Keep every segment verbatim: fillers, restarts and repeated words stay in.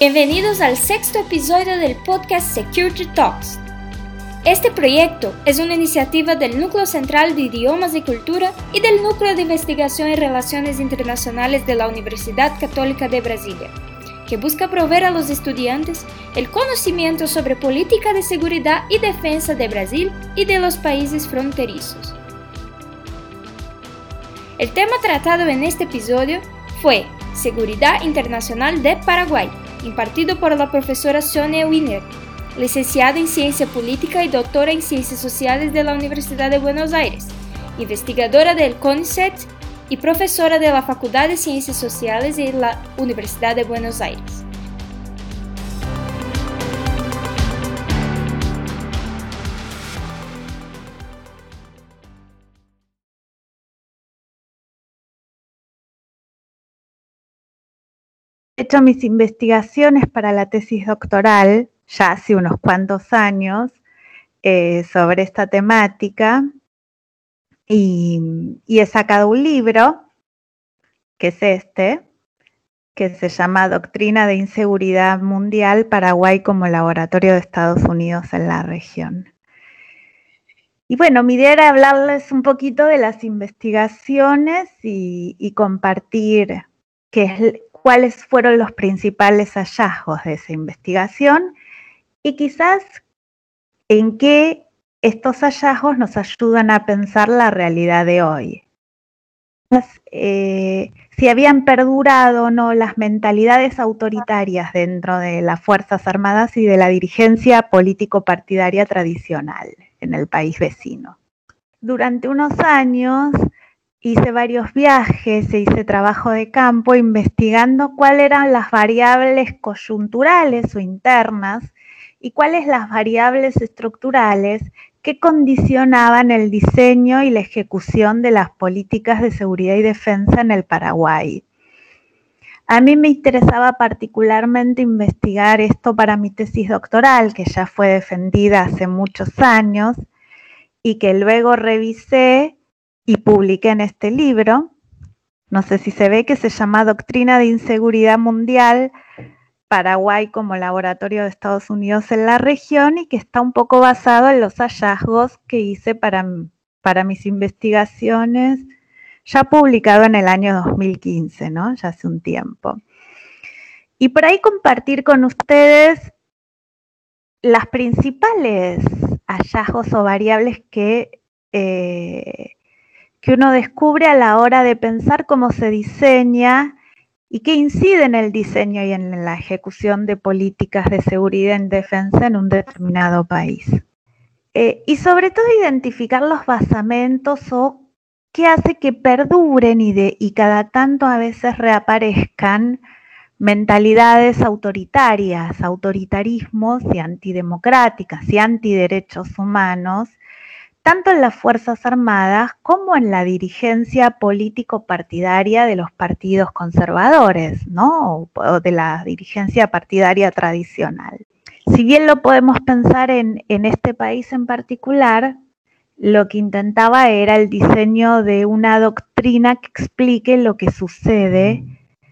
Bienvenidos al sexto episodio del podcast Security Talks. Este proyecto es una iniciativa del Núcleo Central de Idiomas y Cultura y del Núcleo de Investigación y Relaciones Internacionales de la Universidad Católica de Brasilia, que busca proveer a los estudiantes el conocimiento sobre política de seguridad y defensa de Brasil y de los países fronterizos. El tema tratado en este episodio fue Seguridad Internacional de Paraguay, impartido por la profesora Sonia Wiener, licenciada en Ciencia Política y doctora en Ciencias Sociales de la Universidad de Buenos Aires, investigadora del CONICET y profesora de la Facultad de Ciencias Sociales de la Universidad de Buenos Aires. He hecho mis investigaciones para la tesis doctoral ya hace unos cuantos años eh, sobre esta temática y, y he sacado un libro, que es este, que se llama Doctrina de Inseguridad Mundial, Paraguay como Laboratorio de Estados Unidos en la región. Y bueno, mi idea era hablarles un poquito de las investigaciones y, y compartir qué es, cuáles fueron los principales hallazgos de esa investigación y quizás en qué estos hallazgos nos ayudan a pensar la realidad de hoy. Eh, si habían perdurado o no las mentalidades autoritarias dentro de las Fuerzas Armadas y de la dirigencia político-partidaria tradicional en el país vecino. Durante unos años hice varios viajes e hice trabajo de campo investigando cuáles eran las variables coyunturales o internas y cuáles las variables estructurales que condicionaban el diseño y la ejecución de las políticas de seguridad y defensa en el Paraguay. A mí me interesaba particularmente investigar esto para mi tesis doctoral, que ya fue defendida hace muchos años y que luego revisé y publiqué en este libro. No sé si se ve, que se llama Doctrina de Inseguridad Mundial, Paraguay como Laboratorio de Estados Unidos en la región, y que está un poco basado en los hallazgos que hice para, para mis investigaciones, ya publicado en el año dos mil quince, ¿no? Ya hace un tiempo. Y por ahí compartir con ustedes las principales hallazgos o variables que eh, que uno descubre a la hora de pensar cómo se diseña y que incide en el diseño y en la ejecución de políticas de seguridad y defensa en un determinado país. Eh, y sobre todo identificar los basamentos o qué hace que perduren y, de, y cada tanto a veces reaparezcan mentalidades autoritarias, autoritarismos y antidemocráticas y antiderechos humanos, tanto en las Fuerzas Armadas como en la dirigencia político-partidaria de los partidos conservadores, ¿no? O de la dirigencia partidaria tradicional. Si bien lo podemos pensar en, en este país en particular, lo que intentaba era el diseño de una doctrina que explique lo que sucede,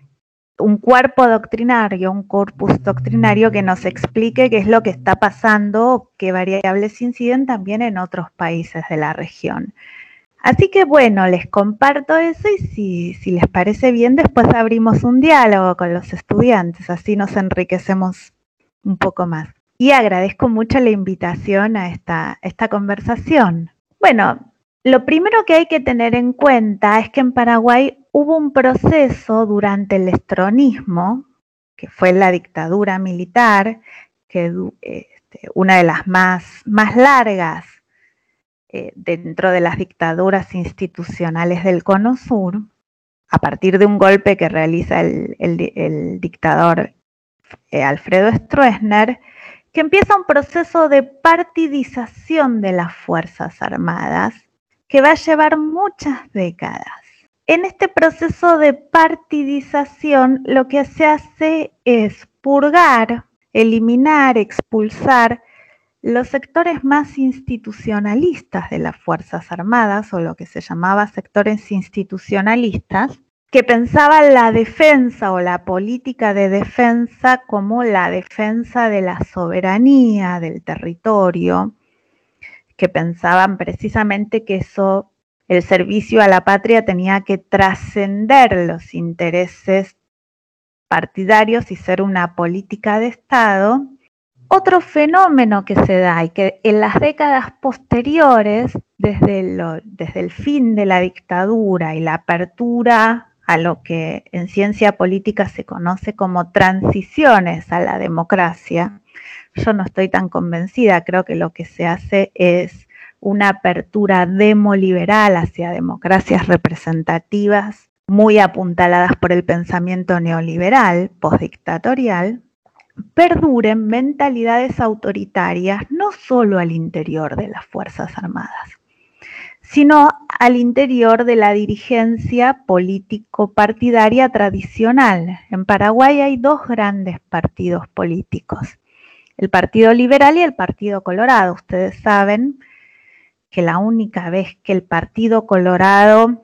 un cuerpo doctrinario, un corpus doctrinario que nos explique qué es lo que está pasando, qué variables inciden también en otros países de la región. Así que bueno, les comparto eso y si, si les parece bien, después abrimos un diálogo con los estudiantes, así nos enriquecemos un poco más. Y agradezco mucho la invitación a esta, esta conversación. Bueno, lo primero que hay que tener en cuenta es que en Paraguay hubo un proceso durante el estronismo, que fue la dictadura militar, que este, una de las más, más largas eh, dentro de las dictaduras institucionales del Cono Sur, a partir de un golpe que realiza el, el, el dictador eh, Alfredo Stroessner, que empieza un proceso de partidización de las Fuerzas Armadas, que va a llevar muchas décadas. En este proceso de partidización, lo que se hace es purgar, eliminar, expulsar los sectores más institucionalistas de las Fuerzas Armadas, o lo que se llamaba sectores institucionalistas, que pensaba la defensa o la política de defensa como la defensa de la soberanía del territorio, que pensaban precisamente que eso, el servicio a la patria tenía que trascender los intereses partidarios y ser una política de Estado. Otro fenómeno que se da y que en las décadas posteriores, desde, lo, desde el fin de la dictadura y la apertura a lo que en ciencia política se conoce como transiciones a la democracia, yo no estoy tan convencida, creo que lo que se hace es una apertura demoliberal hacia democracias representativas muy apuntaladas por el pensamiento neoliberal, postdictatorial, perduren mentalidades autoritarias no solo al interior de las Fuerzas Armadas, sino al interior de la dirigencia político-partidaria tradicional. En Paraguay hay dos grandes partidos políticos, el Partido Liberal y el Partido Colorado. Ustedes saben que la única vez que el Partido Colorado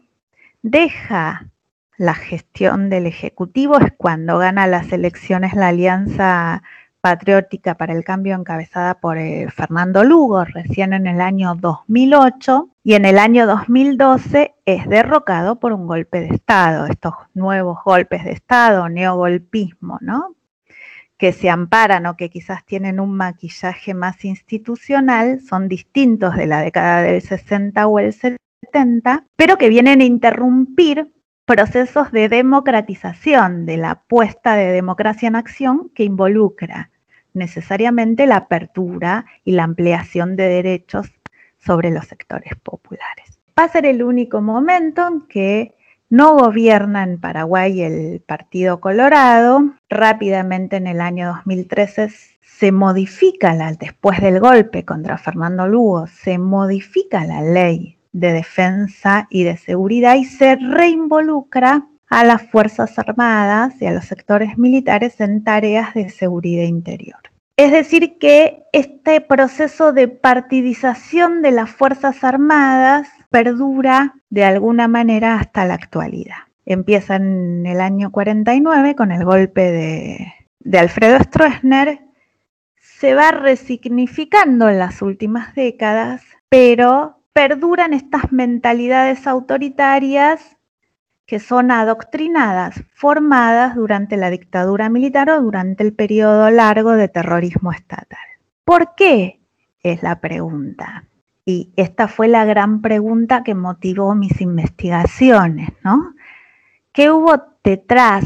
deja la gestión del Ejecutivo es cuando gana las elecciones la Alianza Patriótica para el Cambio encabezada por eh, Fernando Lugo, recién en el año dos mil ocho, y en el año dos mil doce es derrocado por un golpe de Estado, estos nuevos golpes de Estado, neogolpismo, ¿no?, que se amparan o que quizás tienen un maquillaje más institucional, son distintos de la década del sesenta o el setenta, pero que vienen a interrumpir procesos de democratización, de la puesta de democracia en acción que involucra necesariamente la apertura y la ampliación de derechos sobre los sectores populares. Va a ser el único momento en que no gobierna en Paraguay el Partido Colorado. Rápidamente en el año dos mil trece se modifica, la, después del golpe contra Fernando Lugo, se modifica la ley de defensa y de seguridad y se reinvolucra a las Fuerzas Armadas y a los sectores militares en tareas de seguridad interior. Es decir, que este proceso de partidización de las Fuerzas Armadas perdura de alguna manera hasta la actualidad. Empieza en el año cuarenta y nueve con el golpe de, de Alfredo Stroessner, se va resignificando en las últimas décadas, pero perduran estas mentalidades autoritarias que son adoctrinadas, formadas durante la dictadura militar o durante el periodo largo de terrorismo estatal. ¿Por qué? Es la pregunta. Y esta fue la gran pregunta que motivó mis investigaciones, ¿no? ¿Qué hubo detrás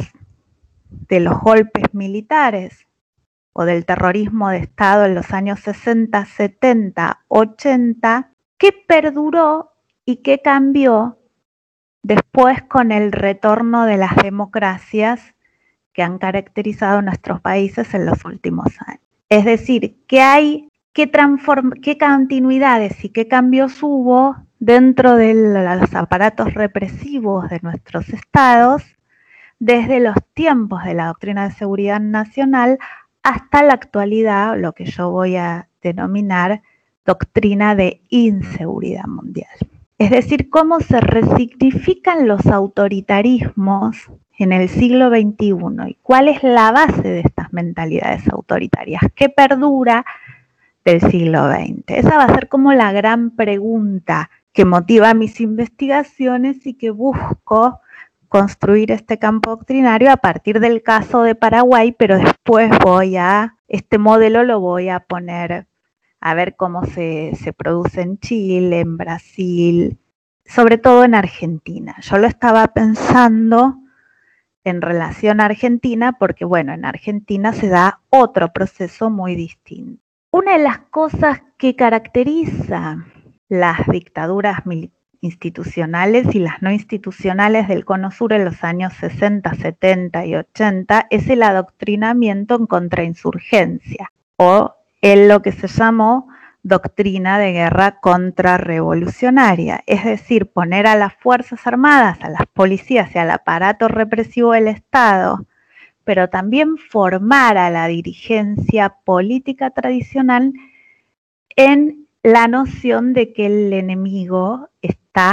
de los golpes militares o del terrorismo de Estado en los años sesenta, setenta, ochenta? ¿Qué perduró y qué cambió después con el retorno de las democracias que han caracterizado nuestros países en los últimos años? Es decir, ¿qué hay, qué, transform, qué continuidades y qué cambios hubo dentro de los aparatos represivos de nuestros estados desde los tiempos de la doctrina de seguridad nacional hasta la actualidad, lo que yo voy a denominar doctrina de inseguridad mundial? Es decir, cómo se resignifican los autoritarismos en el siglo veintiuno y cuál es la base de estas mentalidades autoritarias, qué perdura del siglo veinte. Esa va a ser como la gran pregunta que motiva mis investigaciones y que busco construir este campo doctrinario a partir del caso de Paraguay, pero después voy a, este modelo lo voy a poner a ver cómo se, se produce en Chile, en Brasil, sobre todo en Argentina. Yo lo estaba pensando en relación a Argentina porque, bueno, en Argentina se da otro proceso muy distinto. Una de las cosas que caracteriza las dictaduras institucionales y las no institucionales del Cono Sur en los años sesenta, setenta y ochenta es el adoctrinamiento en contrainsurgencia o en lo que se llamó doctrina de guerra contrarrevolucionaria, es decir, poner a las Fuerzas Armadas, a las policías y al aparato represivo del Estado, pero también formar a la dirigencia política tradicional en la noción de que el enemigo está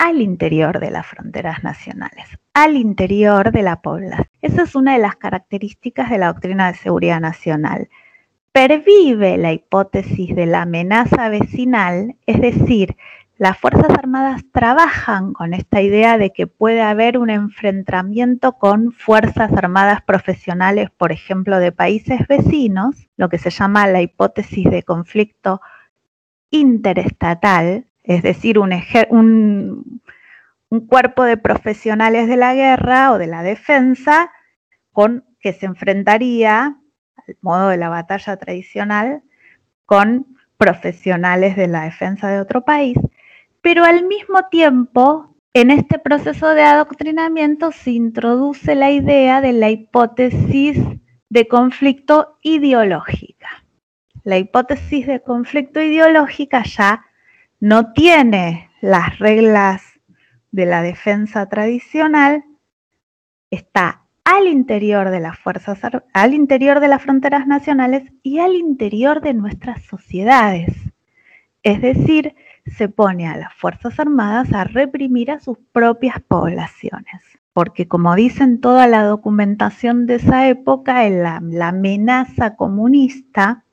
al interior de las fronteras nacionales, al interior de la población. Esa es una de las características de la doctrina de seguridad nacional. Pervive la hipótesis de la amenaza vecinal, es decir, las Fuerzas Armadas trabajan con esta idea de que puede haber un enfrentamiento con Fuerzas Armadas profesionales, por ejemplo, de países vecinos, lo que se llama la hipótesis de conflicto interestatal, es decir, un, un, un cuerpo de profesionales de la guerra o de la defensa con, que se enfrentaría, al modo de la batalla tradicional, con profesionales de la defensa de otro país. Pero al mismo tiempo, en este proceso de adoctrinamiento se introduce la idea de la hipótesis de conflicto ideológica. La hipótesis de conflicto ideológica ya no tiene las reglas de la defensa tradicional, está al interior de las fuerzas, al interior de las fronteras nacionales y al interior de nuestras sociedades. Es decir, se pone a las Fuerzas Armadas a reprimir a sus propias poblaciones. Porque como dicen toda la documentación de esa época, la, la amenaza comunista,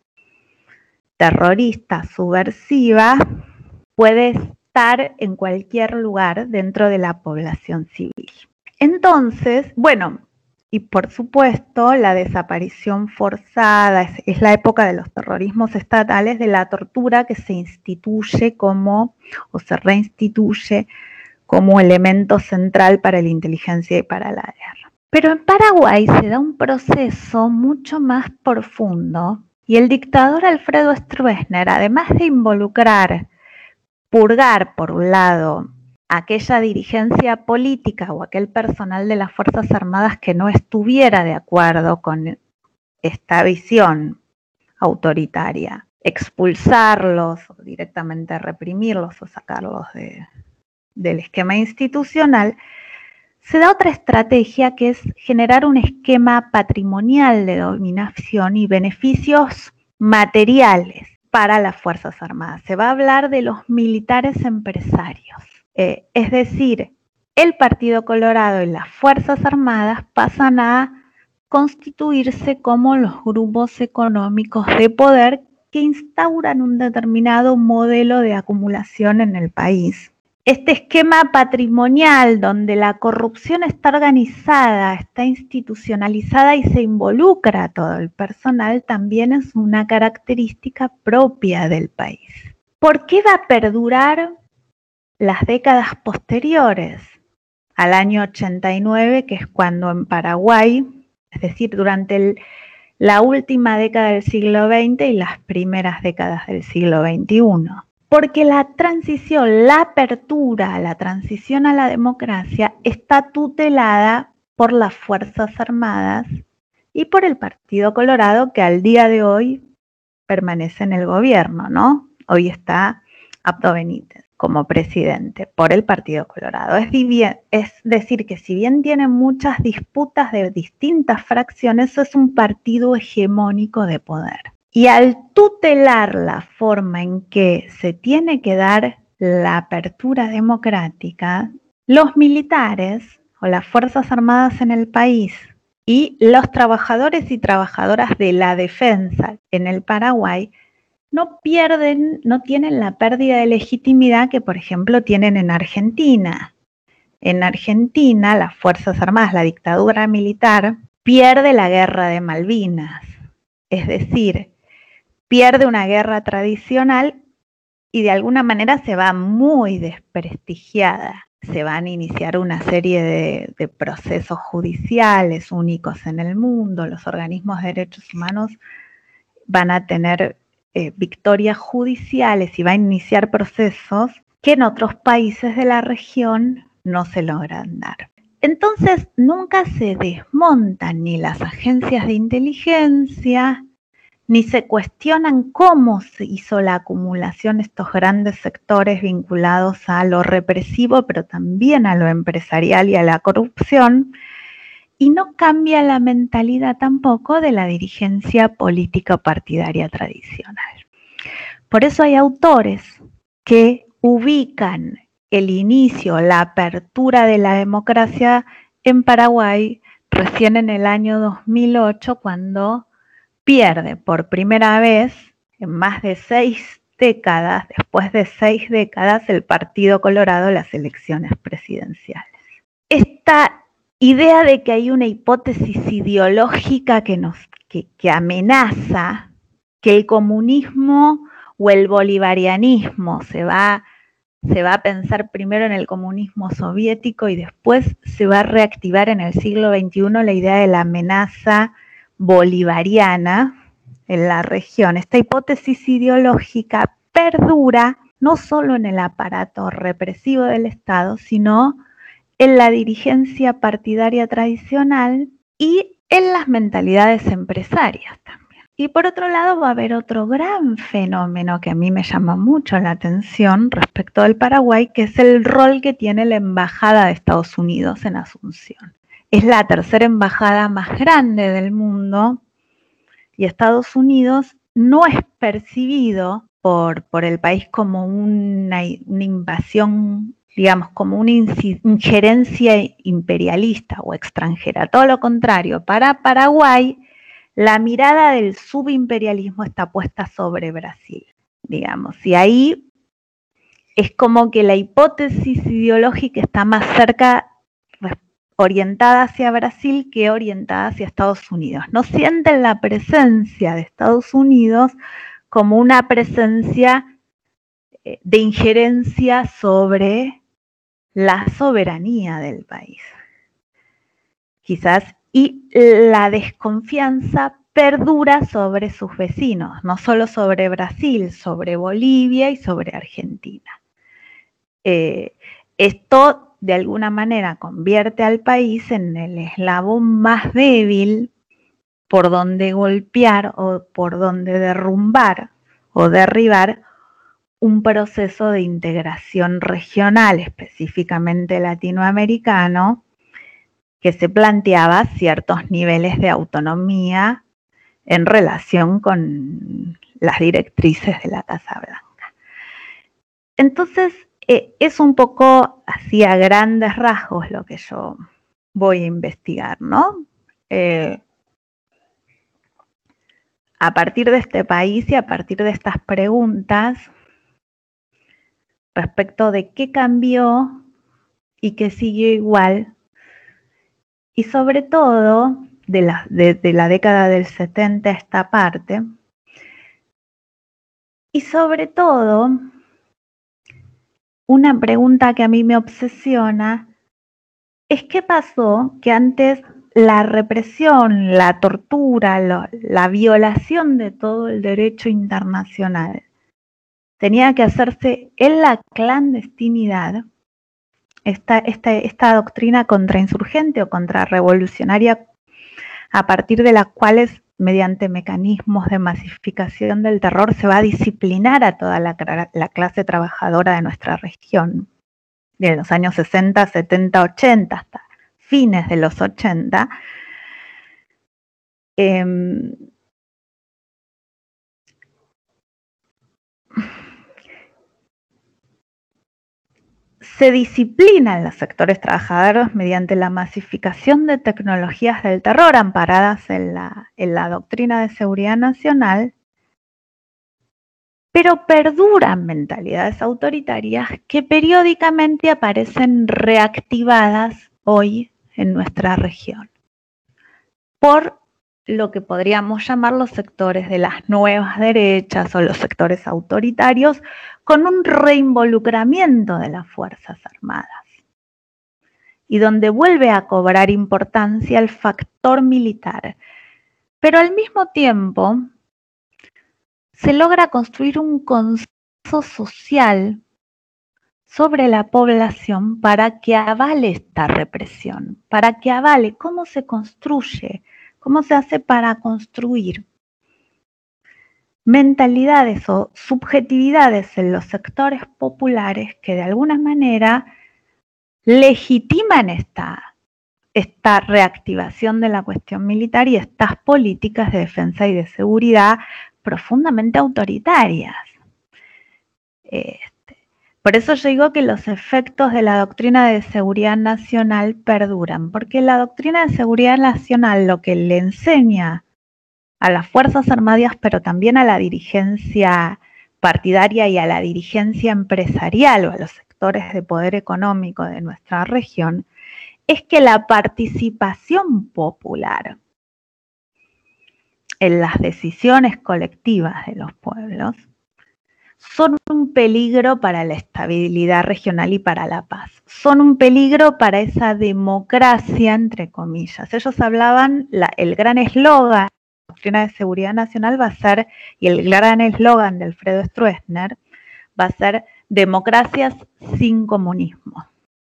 terrorista, subversiva, puede estar en cualquier lugar dentro de la población civil. Entonces, bueno, y por supuesto la desaparición forzada, es, es la época de los terrorismos estatales, de la tortura que se instituye como, o se reinstituye como elemento central para la inteligencia y para la guerra. Pero en Paraguay se da un proceso mucho más profundo y el dictador Alfredo Stroessner, además de involucrar, purgar por un lado, aquella dirigencia política o aquel personal de las Fuerzas Armadas que no estuviera de acuerdo con esta visión autoritaria, expulsarlos o directamente reprimirlos o sacarlos de, del esquema institucional, se da otra estrategia que es generar un esquema patrimonial de dominación y beneficios materiales para las Fuerzas Armadas. Se va a hablar de los militares empresarios. Eh, es decir, el Partido Colorado y las Fuerzas Armadas pasan a constituirse como los grupos económicos de poder que instauran un determinado modelo de acumulación en el país. Este esquema patrimonial donde la corrupción está organizada, está institucionalizada y se involucra a todo el personal también es una característica propia del país. ¿Por qué va a perdurar las décadas posteriores al año ochenta y nueve, que es cuando en Paraguay, es decir, durante el, la última década del siglo veinte y las primeras décadas del siglo veintiuno? Porque la transición, la apertura, la transición a la democracia está tutelada por las Fuerzas Armadas y por el Partido Colorado, que al día de hoy permanece en el gobierno, ¿no? Hoy está Abdo Benítez como presidente por el Partido Colorado. Es, es decir, que si bien tiene muchas disputas de distintas fracciones, es un partido hegemónico de poder. Y al tutelar la forma en que se tiene que dar la apertura democrática, los militares o las Fuerzas Armadas en el país y los trabajadores y trabajadoras de la defensa en el Paraguay no pierden, no tienen la pérdida de legitimidad que, por ejemplo, tienen en Argentina. En Argentina, las Fuerzas Armadas, la dictadura militar, pierde la guerra de Malvinas. Es decir, pierde una guerra tradicional y de alguna manera se va muy desprestigiada. Se van a iniciar una serie de, de procesos judiciales únicos en el mundo. Los organismos de derechos humanos van a tener eh, victorias judiciales y van a iniciar procesos que en otros países de la región no se logran dar. Entonces, nunca se desmontan ni las agencias de inteligencia, ni se cuestionan cómo se hizo la acumulación de estos grandes sectores vinculados a lo represivo, pero también a lo empresarial y a la corrupción, y no cambia la mentalidad tampoco de la dirigencia política partidaria tradicional. Por eso hay autores que ubican el inicio, la apertura de la democracia en Paraguay recién en el año dos mil ocho, cuando pierde por primera vez en más de seis décadas, después de seis décadas, el Partido Colorado las elecciones presidenciales. Esta idea de que hay una hipótesis ideológica que, nos, que, que amenaza que el comunismo o el bolivarianismo se va, se va a pensar primero en el comunismo soviético y después se va a reactivar en el siglo veintiuno la idea de la amenaza bolivariana en la región. Esta hipótesis ideológica perdura no solo en el aparato represivo del Estado, sino en la dirigencia partidaria tradicional y en las mentalidades empresarias también. Y por otro lado va a haber otro gran fenómeno que a mí me llama mucho la atención respecto del Paraguay, que es el rol que tiene la Embajada de Estados Unidos en Asunción. Es la tercera embajada más grande del mundo y Estados Unidos no es percibido por, por el país como una, una invasión, digamos, como una injerencia imperialista o extranjera. Todo lo contrario, para Paraguay, la mirada del subimperialismo está puesta sobre Brasil, digamos, y ahí es como que la hipótesis ideológica está más cerca, orientada hacia Brasil que orientada hacia Estados Unidos. No sienten la presencia de Estados Unidos como una presencia de injerencia sobre la soberanía del país. Quizás, y la desconfianza perdura sobre sus vecinos, no solo sobre Brasil, sobre Bolivia y sobre Argentina. Eh, esto de alguna manera convierte al país en el eslabón más débil por donde golpear o por donde derrumbar o derribar un proceso de integración regional, específicamente latinoamericano, que se planteaba ciertos niveles de autonomía en relación con las directrices de la Casa Blanca. Entonces, eh, es un poco así a grandes rasgos lo que yo voy a investigar, ¿no? Eh, a partir de este país y a partir de estas preguntas respecto de qué cambió y qué siguió igual, y sobre todo de la, de, de la década del setenta a esta parte, y sobre todo una pregunta que a mí me obsesiona es qué pasó que antes la represión, la tortura, lo, la violación de todo el derecho internacional tenía que hacerse en la clandestinidad. Esta, esta, esta doctrina contrainsurgente o contrarrevolucionaria, a partir de las cuales, mediante mecanismos de masificación del terror, se va a disciplinar a toda la, la clase trabajadora de nuestra región, de los años sesenta, setenta, ochenta, hasta fines de los ochenta. Eh, Se disciplinan los sectores trabajadores mediante la masificación de tecnologías del terror amparadas en la, en la doctrina de seguridad nacional, pero perduran mentalidades autoritarias que periódicamente aparecen reactivadas hoy en nuestra región por lo que podríamos llamar los sectores de las nuevas derechas o los sectores autoritarios, con un reinvolucramiento de las Fuerzas Armadas, y donde vuelve a cobrar importancia el factor militar. Pero al mismo tiempo se logra construir un consenso social sobre la población para que avale esta represión, para que avale cómo se construye, cómo se hace para construir mentalidades o subjetividades en los sectores populares que de alguna manera legitiman esta, esta reactivación de la cuestión militar y estas políticas de defensa y de seguridad profundamente autoritarias. Este, Por eso yo digo que los efectos de la doctrina de seguridad nacional perduran, porque la doctrina de seguridad nacional lo que le enseña a las Fuerzas Armadas, pero también a la dirigencia partidaria y a la dirigencia empresarial o a los sectores de poder económico de nuestra región, es que la participación popular en las decisiones colectivas de los pueblos son un peligro para la estabilidad regional y para la paz. Son un peligro para esa democracia, entre comillas. Ellos hablaban, la, el gran eslogan de la doctrina de seguridad nacional va a ser, y el gran eslogan de Alfredo Stroessner, va a ser democracias sin comunismo,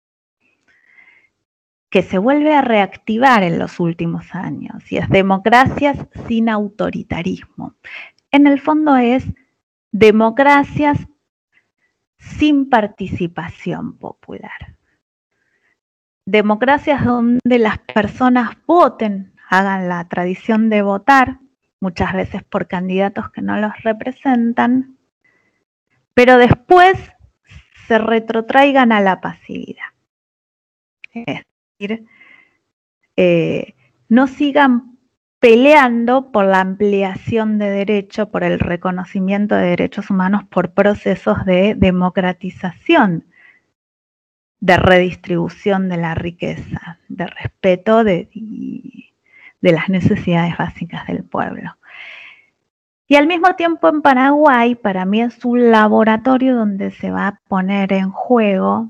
que se vuelve a reactivar en los últimos años, y es democracias sin autoritarismo. En el fondo es democracias sin participación popular. Democracias donde las personas voten, hagan la tradición de votar, muchas veces por candidatos que no los representan, pero después se retrotraigan a la pasividad. Es decir, eh, no sigan peleando por la ampliación de derechos, por el reconocimiento de derechos humanos, por procesos de democratización, de redistribución de la riqueza, de respeto de, de las necesidades básicas del pueblo. Y al mismo tiempo en Paraguay, para mí es un laboratorio donde se va a poner en juego,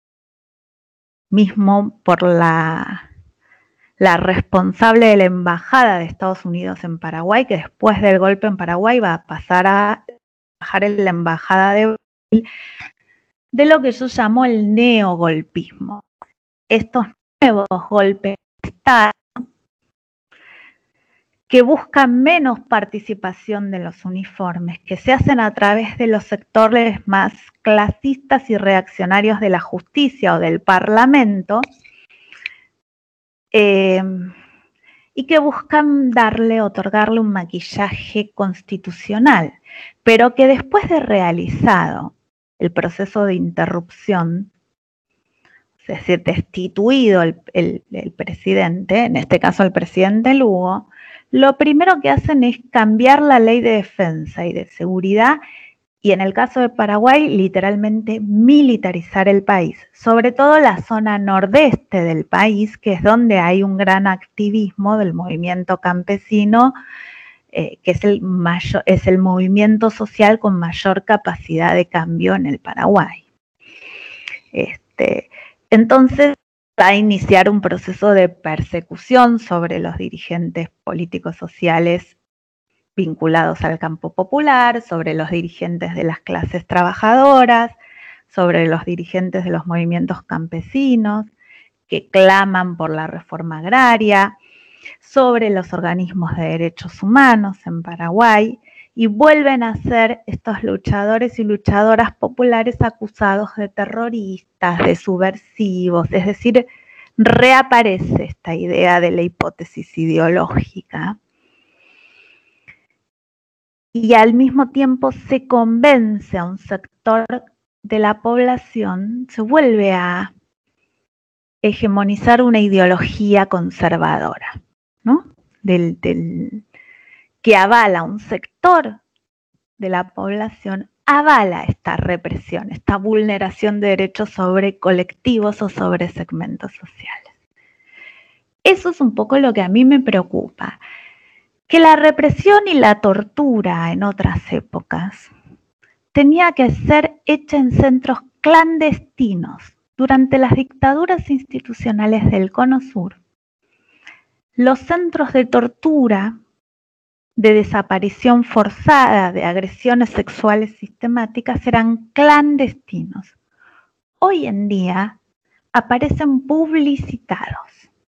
mismo por la... la responsable de la embajada de Estados Unidos en Paraguay, que después del golpe en Paraguay va a pasar a trabajar en la embajada de Brasil, de lo que yo llamo el neogolpismo. Estos nuevos golpes de Estado que buscan menos participación de los uniformes, que se hacen a través de los sectores más clasistas y reaccionarios de la justicia o del Parlamento, Eh, y que buscan darle, otorgarle un maquillaje constitucional, pero que después de realizado el proceso de interrupción, es decir, destituido el, el, el presidente, en este caso el presidente Lugo, lo primero que hacen es cambiar la ley de defensa y de seguridad, y en el caso de Paraguay, literalmente militarizar el país, sobre todo la zona nordeste del país, que es donde hay un gran activismo del movimiento campesino, eh, que es el, mayor, es el movimiento social con mayor capacidad de cambio en el Paraguay. Este, entonces, va a iniciar un proceso de persecución sobre los dirigentes políticos sociales vinculados al campo popular, sobre los dirigentes de las clases trabajadoras, sobre los dirigentes de los movimientos campesinos que claman por la reforma agraria, sobre los organismos de derechos humanos en Paraguay, y vuelven a ser estos luchadores y luchadoras populares acusados de terroristas, de subversivos, es decir, reaparece esta idea de la hipótesis ideológica. Y al mismo tiempo se convence a un sector de la población, se vuelve a hegemonizar una ideología conservadora, ¿no? Del, del, que avala un sector de la población, avala esta represión, esta vulneración de derechos sobre colectivos o sobre segmentos sociales. Eso es un poco lo que a mí me preocupa. Que la represión y la tortura en otras épocas tenía que ser hecha en centros clandestinos durante las dictaduras institucionales del Cono Sur. Los centros de tortura, de desaparición forzada, de agresiones sexuales sistemáticas eran clandestinos. Hoy en día aparecen publicitados.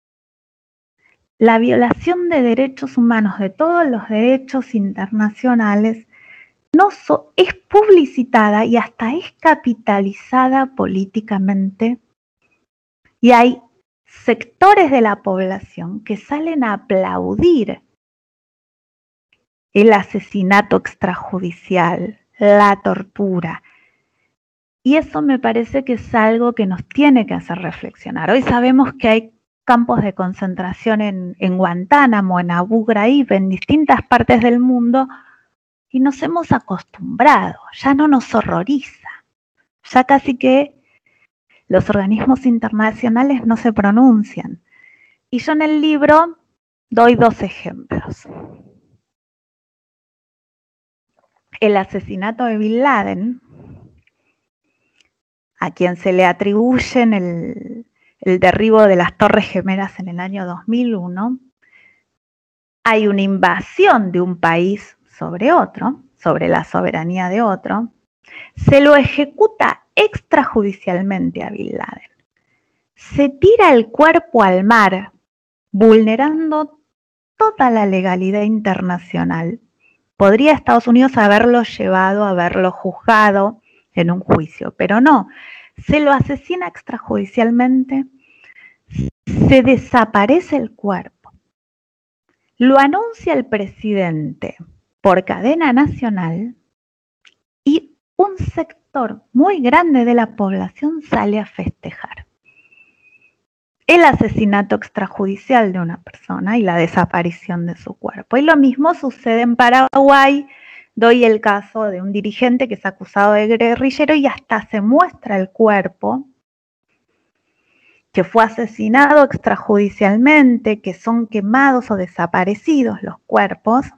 La violación de derechos humanos, de todos los derechos internacionales, no so, es publicitada y hasta es capitalizada políticamente. Y hay sectores de la población que salen a aplaudir el asesinato extrajudicial, la tortura. Y eso me parece que es algo que nos tiene que hacer reflexionar. Hoy sabemos que hay campos de concentración en, en Guantánamo, en Abu Ghraib, en distintas partes del mundo, y nos hemos acostumbrado, ya no nos horroriza, ya casi que los organismos internacionales no se pronuncian. Y yo en el libro doy dos ejemplos. El asesinato de Bin Laden, a quien se le atribuyen el, el derribo de las Torres Gemelas en el año dos mil uno, hay una invasión de un país sobre otro, sobre la soberanía de otro, se lo ejecuta extrajudicialmente a Bin Laden, se tira el cuerpo al mar, vulnerando toda la legalidad internacional. Podría Estados Unidos haberlo llevado, haberlo juzgado en un juicio, pero no, se lo asesina extrajudicialmente, se desaparece el cuerpo, lo anuncia el presidente por cadena nacional y un sector muy grande de la población sale a festejar el asesinato extrajudicial de una persona y la desaparición de su cuerpo. Y lo mismo sucede en Paraguay. Doy el caso de un dirigente que es acusado de guerrillero y hasta se muestra el cuerpo, que fue asesinado extrajudicialmente, que son quemados o desaparecidos los cuerpos,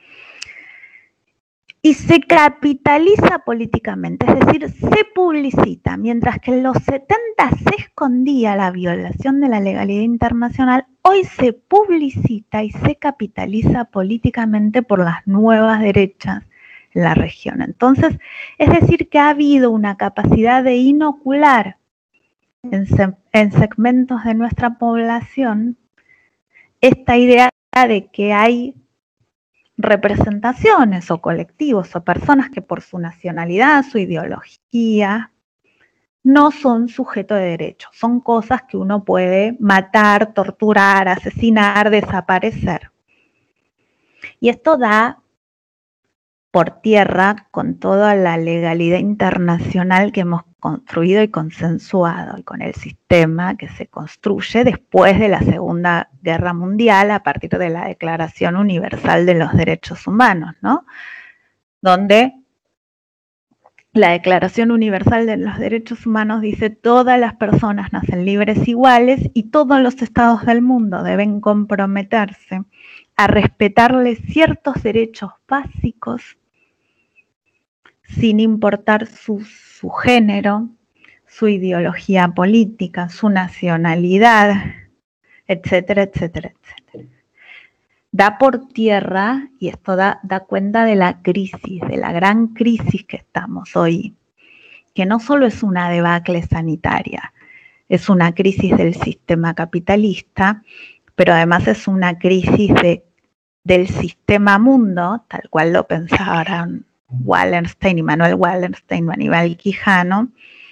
y se capitaliza políticamente, es decir, se publicita. Mientras que en los setenta se escondía la violación de la legalidad internacional, hoy se publicita y se capitaliza políticamente por las nuevas derechas en la región. Entonces, es decir, que ha habido una capacidad de inocular en, se en segmentos de nuestra población esta idea de que hay representaciones o colectivos o personas que por su nacionalidad, su ideología, no son sujeto de derecho, son cosas que uno puede matar, torturar, asesinar, desaparecer. Y esto da por tierra con toda la legalidad internacional que hemos construido y consensuado, y con el sistema que se construye después de la Segunda Guerra Mundial a partir de la Declaración Universal de los Derechos Humanos, ¿no? Donde la Declaración Universal de los Derechos Humanos dice: todas las personas nacen libres iguales y todos los estados del mundo deben comprometerse a respetarles ciertos derechos básicos sin importar su, su género, su ideología política, su nacionalidad, etcétera, etcétera, etcétera. Da por tierra, y esto da, da cuenta de la crisis, de la gran crisis que estamos hoy, que no solo es una debacle sanitaria, es una crisis del sistema capitalista, pero además es una crisis de, del sistema mundo, tal cual lo pensaban Wallerstein, Immanuel Wallerstein, Aníbal Quijano,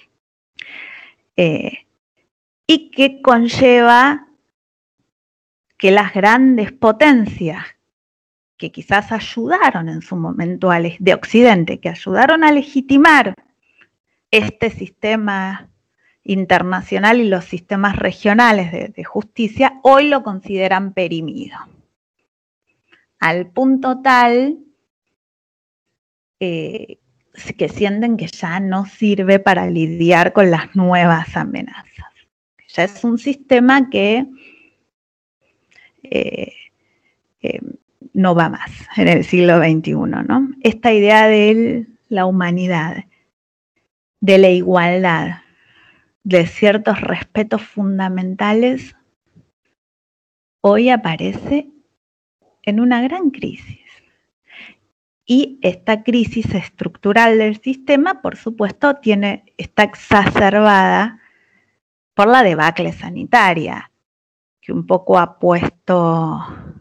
eh, y que conlleva que las grandes potencias que quizás ayudaron en su momento a de Occidente, que ayudaron a legitimar este sistema internacional y los sistemas regionales de, de justicia, hoy lo consideran perimido, al punto tal Eh, que sienten que ya no sirve para lidiar con las nuevas amenazas. Ya es un sistema que eh, eh, no va más en el siglo veintiuno, ¿no? Esta idea de la humanidad, de la igualdad, de ciertos respetos fundamentales, hoy aparece en una gran crisis. Y esta crisis estructural del sistema, por supuesto, tiene, está exacerbada por la debacle sanitaria, que un poco ha puesto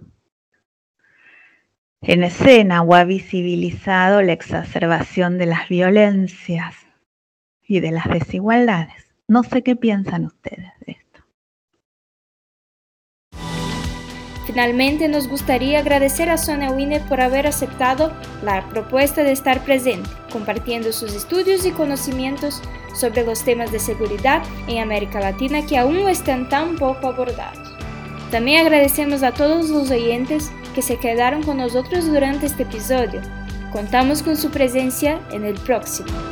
en escena o ha visibilizado la exacerbación de las violencias y de las desigualdades. No sé qué piensan ustedes de esto. Finalmente, nos gustaría agradecer a Sonia Wiener por haber aceptado la propuesta de estar presente, compartiendo sus estudios y conocimientos sobre los temas de seguridad en América Latina que aún están tan poco abordados. También agradecemos a todos los oyentes que se quedaron con nosotros durante este episodio. Contamos con su presencia en el próximo.